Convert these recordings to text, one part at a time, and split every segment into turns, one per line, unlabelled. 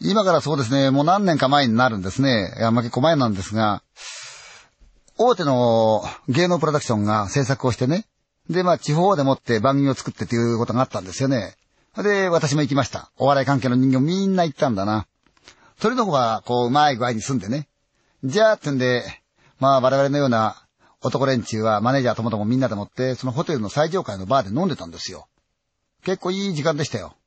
今からそうですね、もう何年か前になるんですね。いや、結構前なんですが、大手の芸能プロダクションが制作をしてね。で、地方でもって番組を作ってっていうことがあったんですよね。で、私も行きました。お笑い関係の人間みんな行ったんだな。それの方が、うまい具合に住んでね。じゃあ、ってんで、我々のような男連中はマネージャーともともみんなでもって、そのホテルの最上階のバーで飲んでたんですよ。結構いい時間でしたよ。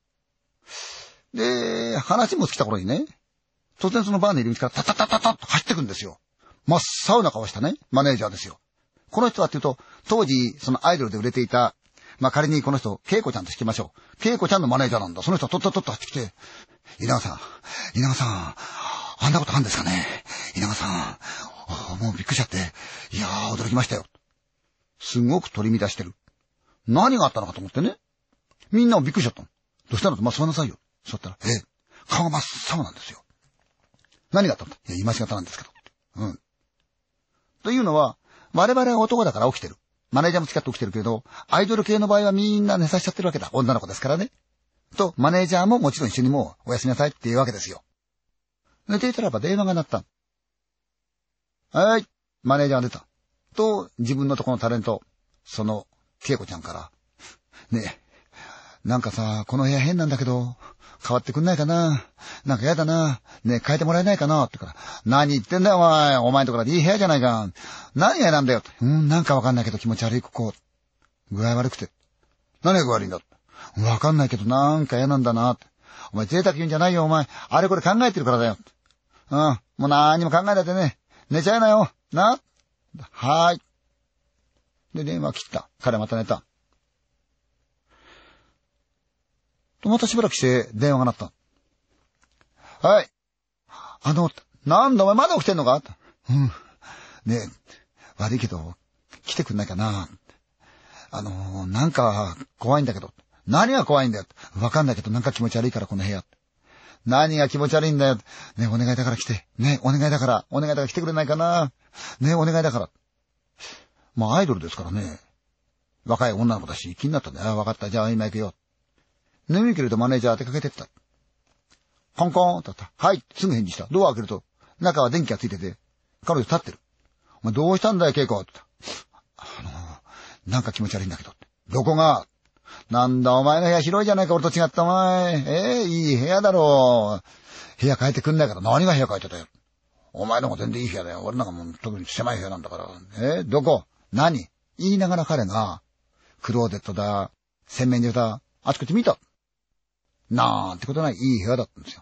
で、話も尽きた頃にね、突然そのバーの入り口からタタタタタッと走ってくんですよ。真っ青な顔したね、マネージャーですよ。この人はっていうと、当時、そのアイドルで売れていた、仮にこの人、ケイコちゃんとしてみましょう。ケイコちゃんのマネージャーなんだ。その人はとっとっとっと走ってきて、稲川さん、あんなことあるんですかね。稲川さん、もうびっくりしちゃって、いやー、驚きましたよ。すごく取り乱してる。何があったのかと思ってね。みんなもびっくりしちゃったの。どうしたのと、座んなさいよ。座ったら、顔が真っ青なんですよ。何があったんだ。いや、今しがたなんですけど。というのは、我々は男だから起きてる。マネージャーも付き合って起きてるけど、アイドル系の場合はみんな寝させちゃってるわけだ。女の子ですからね。と、マネージャーももちろん一緒にもうおやすみなさいっていうわけですよ。寝ていたらば電話が鳴った。はい、マネージャーが出た。と、自分のとこのタレント、その、ケイコちゃんから、ねえ、なんかさ、この部屋変なんだけど、変わってくんないかな。なんかやだな。ねえ、変えてもらえないかなってから、何言ってんだよお前。お前んところでいい部屋じゃないか。何がなんだよ。なんかわかんないけど気持ち悪いここ。具合悪くて。何が具合悪いんだ。わかんないけどなんか嫌なんだなって。お前贅沢言うんじゃないよお前。あれこれ考えてるからだよ。もう何にも考えないでね。寝ちゃいなよ。な。はーい。で、電話切った。彼また寝た。と、またしばらくして電話が鳴った。はい。なんだお前まだ起きてんのか。ねえ、悪いけど、来てくんないかな。なんか怖いんだけど。何が怖いんだよ。わかんないけどなんか気持ち悪いからこの部屋。何が気持ち悪いんだよ。ねえ、お願いだから来て。ねえ、お願いだから来てくれないかな。ねえ、お願いだから。アイドルですからね。若い女の子だし気になったんだよ。わかった。じゃあ今行くよ。眠いけれどマネージャー出かけてった。コンコーンとあった。はい。すぐ返事した。ドア開けると、中は電気がついてて、彼女立ってる。お前どうしたんだよ、ケイコって言った。なんか気持ち悪いんだけどって。どこが。なんだお前の部屋広いじゃないか、俺と違ったお前。いい部屋だろう。部屋変えてくんないから何が部屋変えてたよ。お前の方が全然いい部屋だよ。俺なんかもう特に狭い部屋なんだから。どこ何言いながら彼が、クローゼットだ、洗面所だ、あちこち見た。なんてことないいい部屋だったんですよ。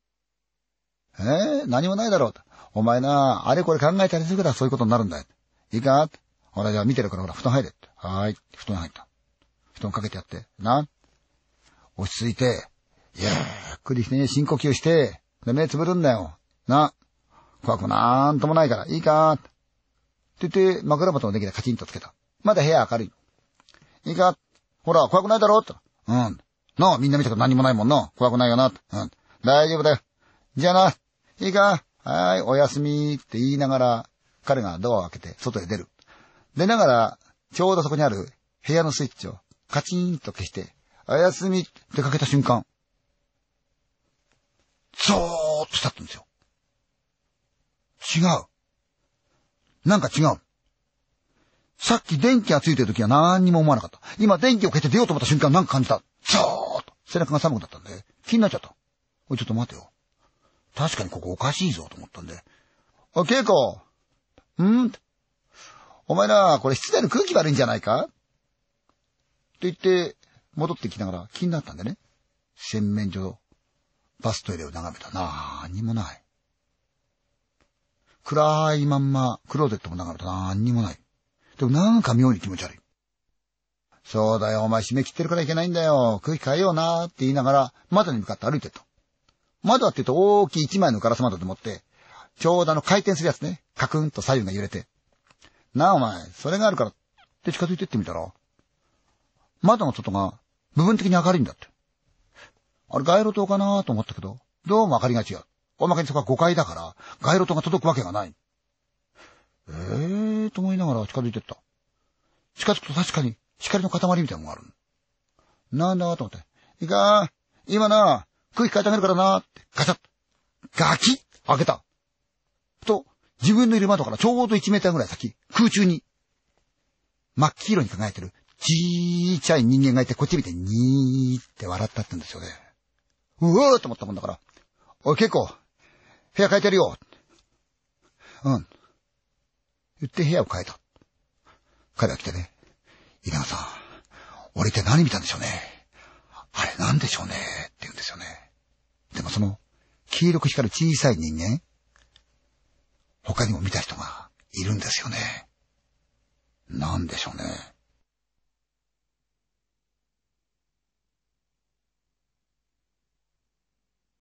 何もないだろうと。お前な、あれこれ考えたりするからそういうことになるんだよ。いいかほらじゃあ見てるからほら布団入れって。はーい。布団入った。布団かけてやって。な。落ち着いて、ゆっくりしてね、深呼吸して、で、目つぶるんだよ。な。怖くなんともないから。いいかって言って、枕元の電気でカチンとつけた。まだ部屋明るい。いいかほら、怖くないだろって。なあ、みんな見たから何もないもんな。怖くないよな。大丈夫だよ。じゃあな。いいかはーい、おやすみって言いながら、彼がドアを開けて外へ出る。出ながら、ちょうどそこにある部屋のスイッチをカチンと消して、おやすみってかけた瞬間、ゾーッとしたったんですよ。違う。なんか違う。さっき電気がついてる時は何にも思わなかった。今電気を消して出ようと思った瞬間なんか感じた。ゾーッと。背中が寒くなったんで、気になっちゃった。おい、ちょっと待てよ。確かにここおかしいぞと思ったんで。おい、ケイコ。お前な、これ室内の空気悪いんじゃないかって言って、戻ってきながら気になったんでね。洗面所、バストイレを眺めた。なんにもない。暗いまんま、クローゼットも眺めた。なんにもない。でもなんか妙に気持ち悪い。そうだよ、お前締め切ってるからいけないんだよ。空気変えようなって言いながら、窓に向かって歩いてった。窓はって言うと大きい一枚のガラス窓でもって、ちょうど回転するやつね。カクンと左右が揺れて。なあお前、それがあるからって近づいてってみたら、窓の外が部分的に明るいんだって。あれ街路灯かなと思ったけど、どうも明かりが違う。おまけにそこは5階だから、街路灯が届くわけがない。と思いながら近づいてった。近づくと確かに光の塊みたいなのがある。なんだと思って。いいか今な、空気変えてあげるからなって、ガチャッとガキッ開けた。と、自分のいる窓からちょうど1メーターぐらい先、空中に、真っ黄色に輝いてる、ちっちゃい人間がいて、こっち見て、にーって笑ったって言うんですよね。うわーと思ったもんだから、おい、結構、部屋変えてるよ。うん。言って部屋を変えた。彼が来てね、稲川さん、俺って何見たんでしょうね。あれなんでしょうねって言うんですよね。でもその、黄色く光る小さい人間、他にも見た人がいるんですよね。なんでしょうね。